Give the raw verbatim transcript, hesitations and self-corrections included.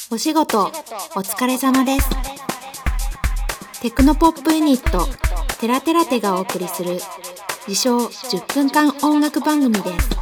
お仕事お疲れ様です。テクノポップユニットテラテラテがお送りする自称じゅっぷんかん音楽番組です。